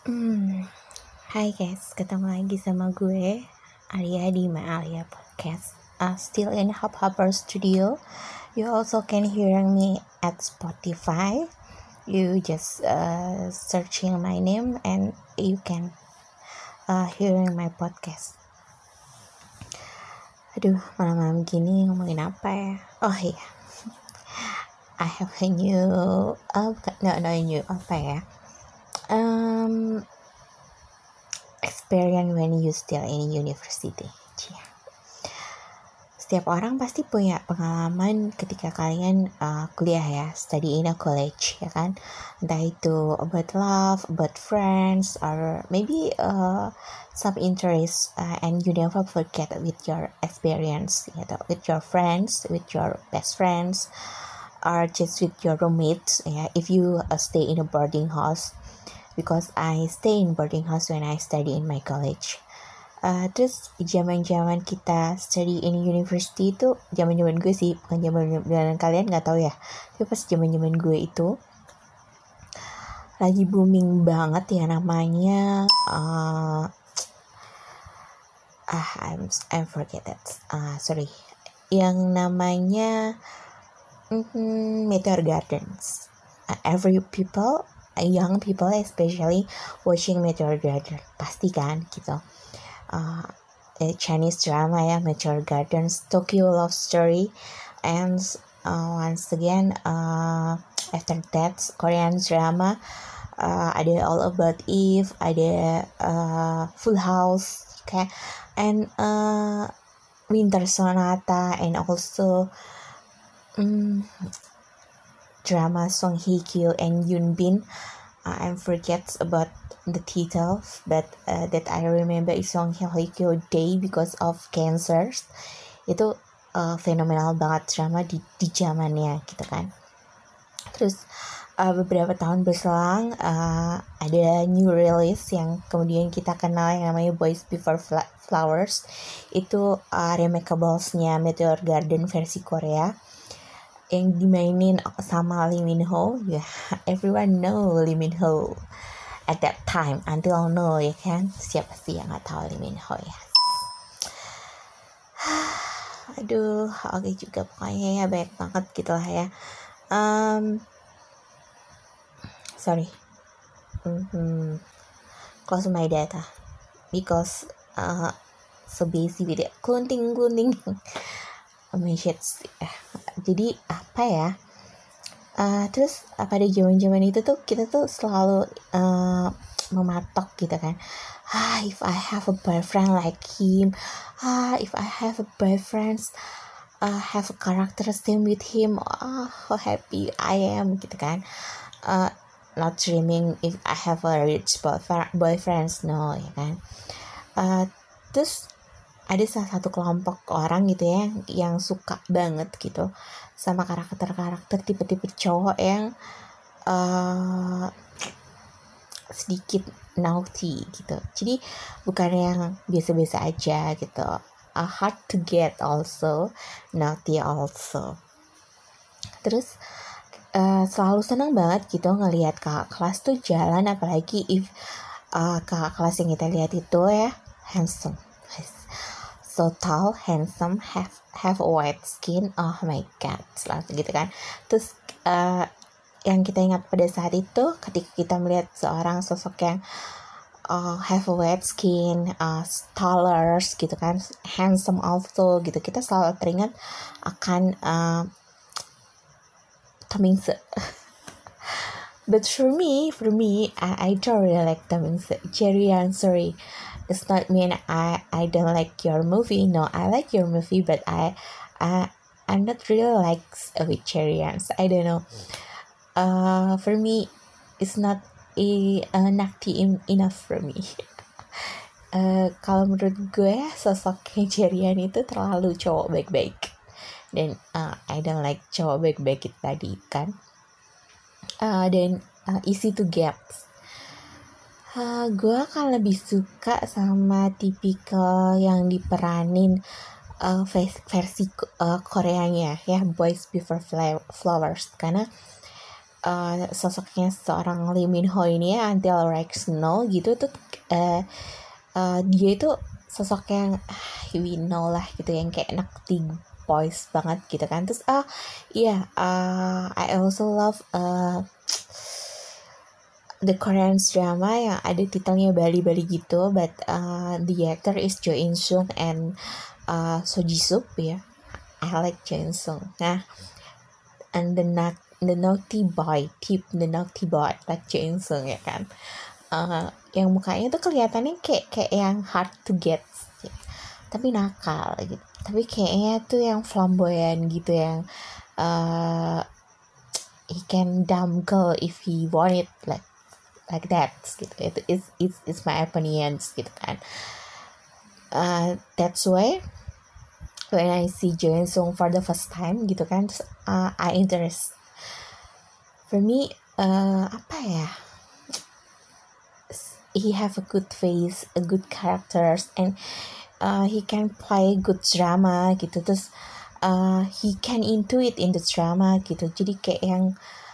Hmm, Hai guys, ketemu lagi sama gue Alia di My Alia Podcast. Still in Hub Hopper Studio. You also can hear me at Spotify. You just searching my name and you can hearing my podcast. Aduh, malam-malam gini ngomongin apa ya? Oh iya, I have a new, apa ya? Experience when you still in university. Cia. Setiap orang pasti punya pengalaman ketika kalian kuliah ya, study in a college ya kan. Entah itu about love, about friends, or maybe some interest and you never forget with your experience, gitu. With your friends, with your best friends, or just with your roommates. Ya, if you stay in a boarding house, because I stay in boarding house when I study in my college. Terus zaman kita study in university itu zaman gue sih, bukan zaman kalian, nggak tahu ya. Tapi pas zaman gue itu lagi booming banget ya namanya I'm forget that. Sorry. Yang namanya Meteor Gardens. Every people, young people especially watching Meteor Garden, pasti kan gitu. Chinese drama ya, Meteor Gardens, Tokyo Love Story, and once again after that Korean drama, ada All About Eve, ada Full House, okay, and Winter Sonata, and also drama Song Hye Kyo and Yoon Bin. I forget about the title, but that I remember is Song Hye Kyo Day because of cancers. Itu fenomenal banget drama di zamannya gitu kan. Terus beberapa tahun berselang ada new release yang kemudian kita kenal yang namanya Boys Before Flowers. Itu Remarkables-nya Meteor Garden versi Korea yang dimainin sama Lee Min Ho. Ya, everyone know Lee Min Ho at that time, until now ya kan. Siapa sih yang nggak tahu Lee Min Ho ya? Aduh, oke juga pokoknya ya, banyak banget gitu lah ya. Sorry, close my data because so busy with it, cloning message. Jadi apa ya? Terus pada zaman itu tuh kita tuh selalu mematok gitu kan. If I have a boyfriend like him, if I have a boyfriend have a character same with him, how happy I am gitu kan. Not dreaming if I have a rich boyfriend, no ya kan. Terus ada salah satu kelompok orang gitu ya yang suka banget gitu sama karakter-karakter tipe-tipe cowok yang sedikit naughty gitu. Jadi bukan yang biasa-biasa aja gitu. Hard to get also, naughty also. Terus selalu senang banget gitu ngelihat kakak kelas tuh jalan, apalagi if kakak kelas yang kita lihat itu ya handsome, so tall, handsome, have a white skin, oh my god, selalu gitu kan. Terus yang kita ingat pada saat itu ketika kita melihat seorang sosok yang have a white skin, taller gitu kan, handsome also gitu, kita selalu teringat akan Tamingse. But for me, I don't really like Tamingse. Jerryan, sorry, it's not mean I don't like your movie. No, I like your movie, but I'm not really like with Jerryans. I don't know. For me, it's not naughty enough for me. Kalau menurut gue sosoknya Jerryan itu terlalu cowok baik-baik, dan I don't like cowok baik-baik itu tadi kan. Dan easy to get. Gue akan lebih suka sama tipikal yang diperanin versi Koreanya ya, Boys Before Flowers, karena sosoknya seorang Lee Min Ho ini ya, Until Right Now gitu tuh, dia itu sosok yang we know lah gitu, yang kayak anak teen boys banget gitu kan. Terus I also love the Korean drama yang ada titelnya Bali-Bali gitu, but the actor is Jo In Sung and So Ji Suk ya. I like Jo In Sung. Nah, and the naughty boy like Jo In Sung ya kan. Yang mukanya tuh kelihatannya kayak yang hard to get, tapi nakal gitu. Tapi kayaknya tuh yang flamboyan gitu, yang he can dumb girl if he want it, like that gitu. It's my opinions gitu kan. That's why when I see Jo In Sung for the first time gitu kan, terus, I interest. For me, apa ya? He have a good face, a good characters, and he can play good drama gitu. Terus he can intuit in the drama gitu. Jadi kayak yang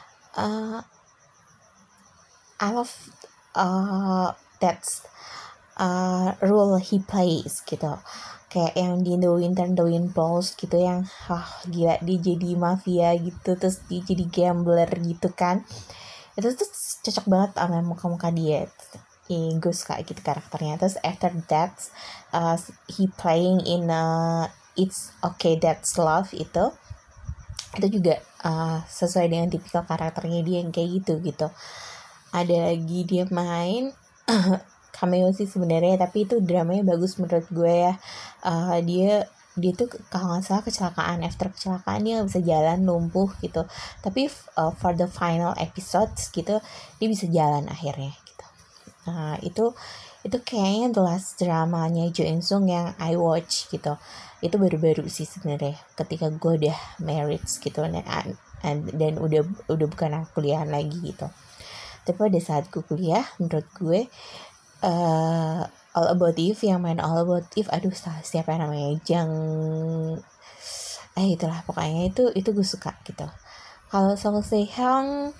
I love that's role he plays gitu. Kayak yang di The Winter Balls gitu, yang gila dia jadi mafia gitu, terus dia jadi gambler gitu kan. Itu tuh cocok banget sama muka-muka dia. Gue suka gitu karakternya. Terus after that he playing in It's Okay That's Love itu juga sesuai dengan tipikal karakternya dia yang kayak gitu. Ada lagi dia main cameo sih sebenarnya, tapi itu dramanya bagus menurut gue ya. Dia tuh kalau nggak salah kecelakaan, after kecelakaan dia bisa jalan, lumpuh gitu, tapi for the final episodes gitu dia bisa jalan akhirnya gitu. Itu kayaknya the last dramanya Jo In Sung yang I watch gitu. Itu baru-baru sih sebenarnya, ketika gue udah married gitu, dan udah bukan kuliah lagi gitu. Tapi pada saat gue kuliah, menurut gue All About Eve, yang main All About Eve, siapa namanya, itulah pokoknya itu gue suka gitu. Kalau Song Se-hyung,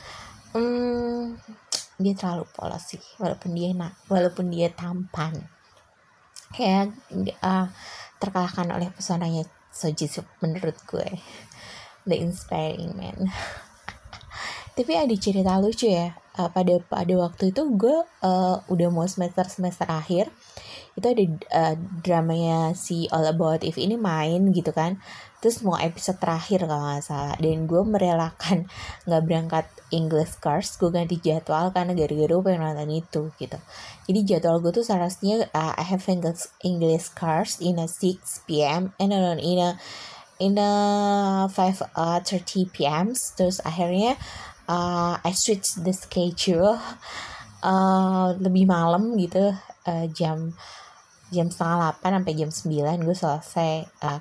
dia terlalu polos sih, walaupun dia tampan, kayak terkalahkan oleh pesonanya So Ji Suk menurut gue, the inspiring man. Tapi ada cerita lucu ya, pada waktu itu gue udah mau semester akhir, itu ada dramanya si All About Eve ini main gitu kan. Terus mau episode terakhir kalau nggak salah, dan gue merelakan nggak berangkat English course, gue ganti jadwal karena gara-gara gue pengen nonton itu gitu. Jadi jadwal gue tuh seharusnya I have English course in a 6 p.m. and then in a 5:30 p.m. Terus akhirnya I switch the schedule lebih malam gitu, jam 7:30 sampai jam 9 gue selesai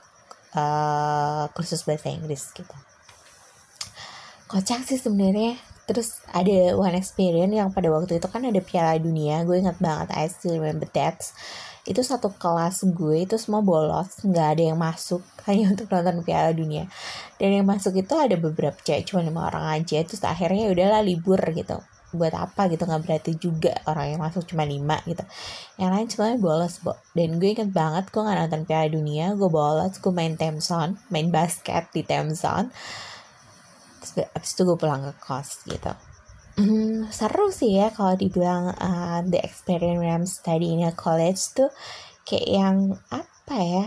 kursus bahasa Inggris gitu. Kocak sih sebenarnya. Terus ada one experience yang pada waktu itu kan ada Piala Dunia, gue ingat banget, I still remember that. Itu satu kelas gue itu semua bolos, nggak ada yang masuk hanya untuk nonton Piala Dunia. Dan yang masuk itu ada beberapa cewek, cuma 5 orang aja. Terus akhirnya udahlah libur gitu. Buat apa gitu, nggak berarti juga orang yang masuk cuma 5 gitu. Yang lain semuanya bolos, Dan gue inget banget, gue nggak nonton Piala Dunia, gue bolos, gue main Thameson, main basket di Thameson. Terus abis itu gue pulang ke kos gitu. Seru sih ya kalau dibilang the experience study in a college tuh kayak yang apa ya,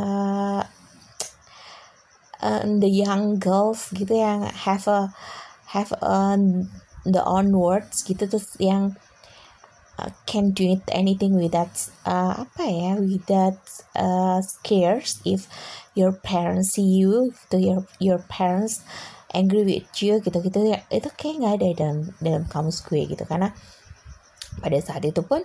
the young girls gitu yang have the own words gitu, terus yang can do it anything without without scares if your parents see you gitu, your parents angry with you gitu ya. Itu kayak nggak ada dalam kamus gue gitu, karena pada saat itu pun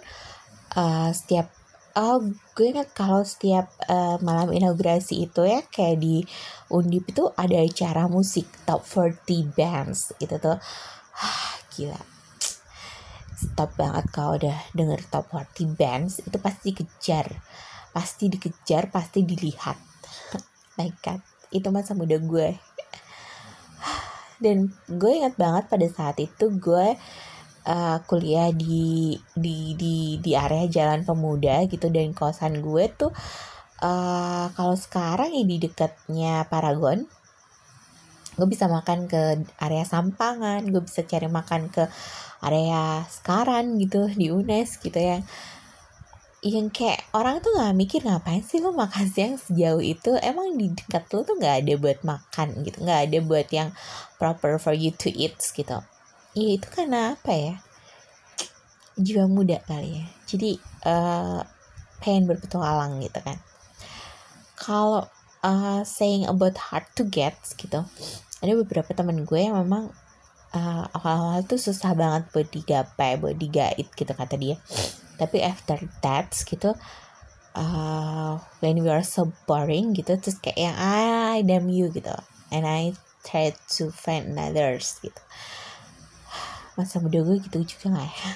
gue ingat kalau setiap malam inaugurasi itu ya, kayak di Undip itu ada acara musik top 40 bands gitu tuh. Gila, stop banget kalau udah denger top 40 bands, itu pasti dikejar, pasti dilihat. My God, itu masa muda gue. Dan gue ingat banget pada saat itu gue kuliah di area Jalan Pemuda gitu, dan kosan gue tuh kalau sekarang ya di dekatnya Paragon. Gue bisa makan ke area Sampangan, gue bisa cari makan ke area Sekaran gitu di UNES gitu, yang kayak orang tuh nggak mikir ngapain sih lo makan siang sejauh itu, emang di dekat lo tuh nggak ada buat makan gitu, nggak ada buat yang proper for you to eat gitu. Ya itu karena apa ya, jiwa muda kali ya, jadi pengen berpetualang gitu kan. Kalau saying about hard to get gitu, ada beberapa teman gue yang memang awal-awal tuh susah banget buat digapai, buat digait gitu kata dia. Tapi after that gitu, when we are so boring gitu, terus kayak yang I damn you gitu, and I try to find others gitu. Masa muda gue gitu juga nggak ya?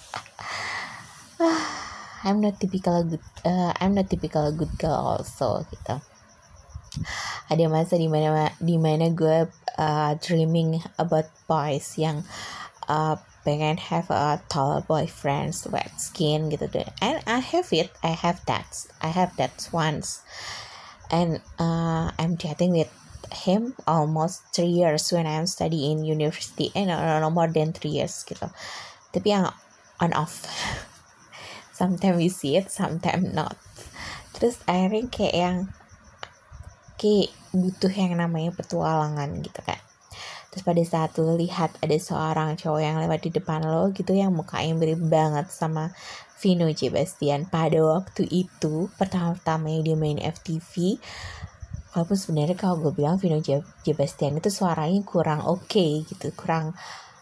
I'm not typical a good girl also gitu. Ada masa dimana gue dreaming about boys yang pengen have a tall boyfriend, wet skin gitu deh. And I have that once. And I'm chatting with him almost 3 years when I'm studying university, and no more than 3 years gitu. Tapi yang on off. Sometimes we see it, sometimes not. Terus akhirnya kayak butuh yang namanya petualangan gitu kan. Terus pada saat lo lihat ada seorang cowok yang lewat di depan lo gitu, yang mukanya mirip banget sama Vino J. Bastian pada waktu itu, pertama-tamanya dia main FTV. Walaupun sebenarnya kalau gue bilang Vino J. Bastian itu suaranya kurang oke gitu, kurang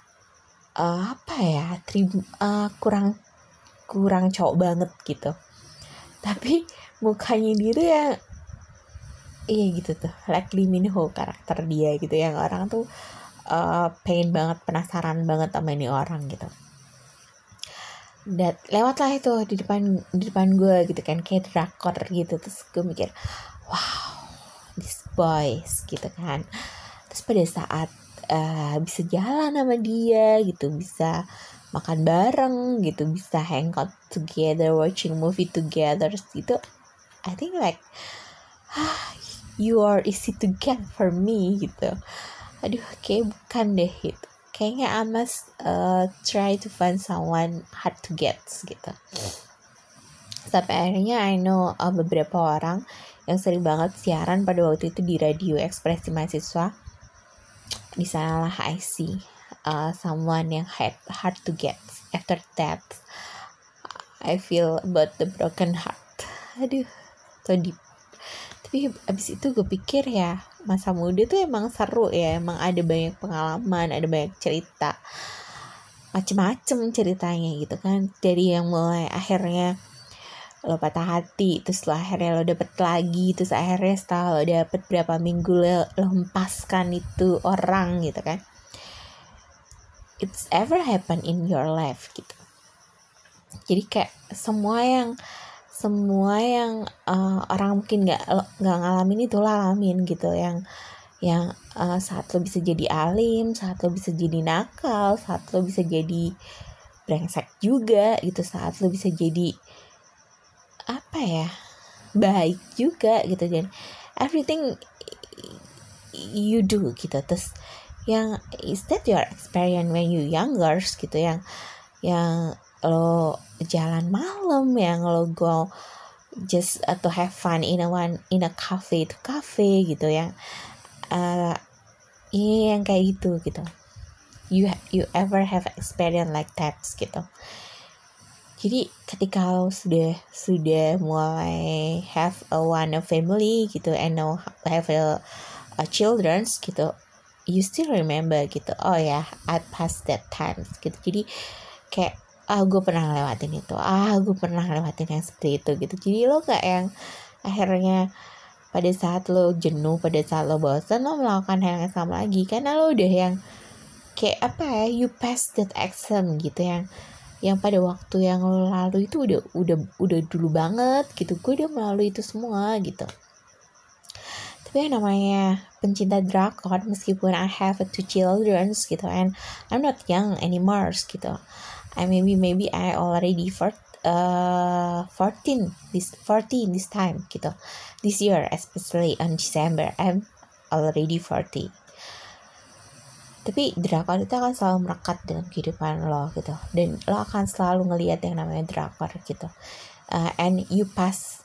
kurang cowok banget gitu. Tapi mukanya dia tuh yang iya gitu tuh, like Lee Min Ho karakter dia gitu, yang orang tuh pengen banget, penasaran banget sama ini orang gitu. Dan lewatlah itu di depan gue gitu kan, kayak drakor gitu. Terus gue mikir, wow, this boys gitu kan. Terus pada saat bisa jalan sama dia gitu, bisa makan bareng gitu, bisa hang out together, watching movie together gitu, I think like you are easy to get for me gitu. Aduh, kayak bukan deh gitu. Kayaknya I must try to find someone hard to get gitu. Sampai akhirnya I know beberapa orang yang sering banget siaran pada waktu itu di radio Ekspresi Mahasiswa. Di sanalah I see someone yang hard to get. After that, I feel about the broken heart. Aduh, so deep. Tapi abis itu gue pikir ya, masa muda tuh emang seru ya, emang ada banyak pengalaman, ada banyak cerita, macem-macem ceritanya gitu kan. Dari yang mulai akhirnya lo patah hati, terus lo akhirnya lo dapet lagi, terus akhirnya setelah lo dapet berapa minggu lo hempaskan itu orang gitu kan. It's ever happen in your life gitu. Jadi kayak semua yang orang mungkin nggak ngalamin itu lo alamin gitu, yang saat lo bisa jadi alim, saat lo bisa jadi nakal, saat lo bisa jadi brengsek juga gitu, saat lo bisa jadi baik juga gitu, dan everything you do gitu. Terus yang is that your experience when you younger gitu, yang lo jalan malam, yang lo go just to have fun in a cafe to cafe gitu, yang yang kayak gitu. You ever have experience like that gitu. Jadi ketika lo sudah mulai have a family gitu, and now have a children gitu, you still remember gitu, oh ya, I passed that time gitu. Jadi kayak gue pernah lewatin itu, gue pernah lewatin yang seperti itu gitu. Jadi lo gak yang akhirnya pada saat lo jenuh, pada saat lo bosan, lo melakukan hal yang sama lagi, karena lo udah yang kayak you pass that exam gitu, yang pada waktu yang lo lalu itu udah dulu banget gitu. Gue udah melalui itu semua gitu. Tapi yang namanya pencinta drakor, meskipun I have 2 children gitu, and I'm not young anymore gitu. Maybe I already 14 this time gitu. This year, especially on December, I'm already 40. Tapi drakor itu akan selalu melekat dalam kehidupan lo gitu, dan lo akan selalu ngelihat yang namanya drakor gitu. And you pass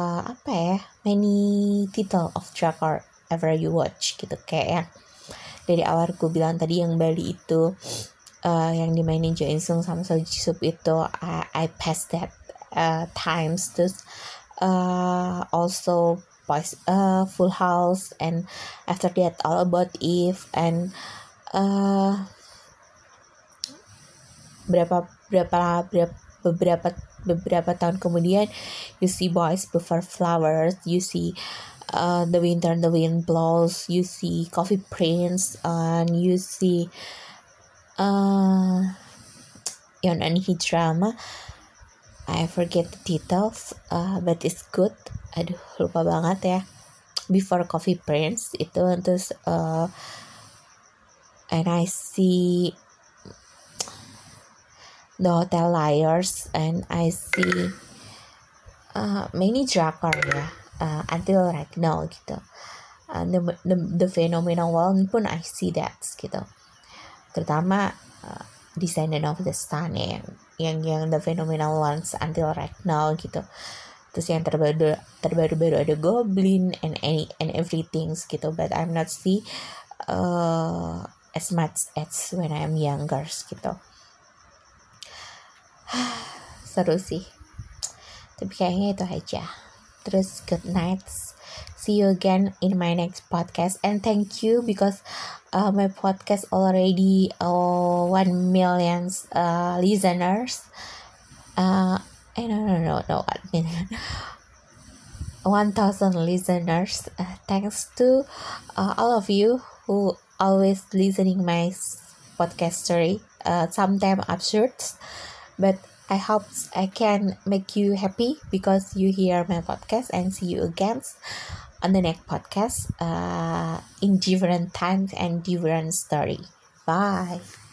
many title of drakor ever you watch gitu, kayak yang dari awal gue bilang tadi yang Bali itu, yang dimainin Jo In Sung sama Seo Ji Sub itu, I passed that times. Terus also Full House, and after that All About Eve, and beberapa tahun kemudian you see Boys Before Flowers, you see The Winter and the Wind Blows, you see Coffee Prince, and you see Yon Anhi drama. I forget the titles, but it's good. Aduh, lupa banget ya. Before Coffee Prince itu, terus and I see The Hotel Liars, and I see many drakor ya, until right now gitu. The Phenomenal One pun I see that gitu. Terutama Descendant of the Sun ya, yang The Phenomenal Ones until right now gitu. Terus yang terbaru ada Goblin and everything gitu, but I'm not see as much as when I'm younger gitu. Seru sih, tapi kayaknya itu aja. Terus good night, see you again in my next podcast, and thank you because my podcast already 1 million listeners. No, 1,000 listeners. Thanks to all of you who always listening my podcast story. Sometimes absurd, but I hope I can make you happy because you hear my podcast, and see you again on the next podcast in different times and different story. Bye.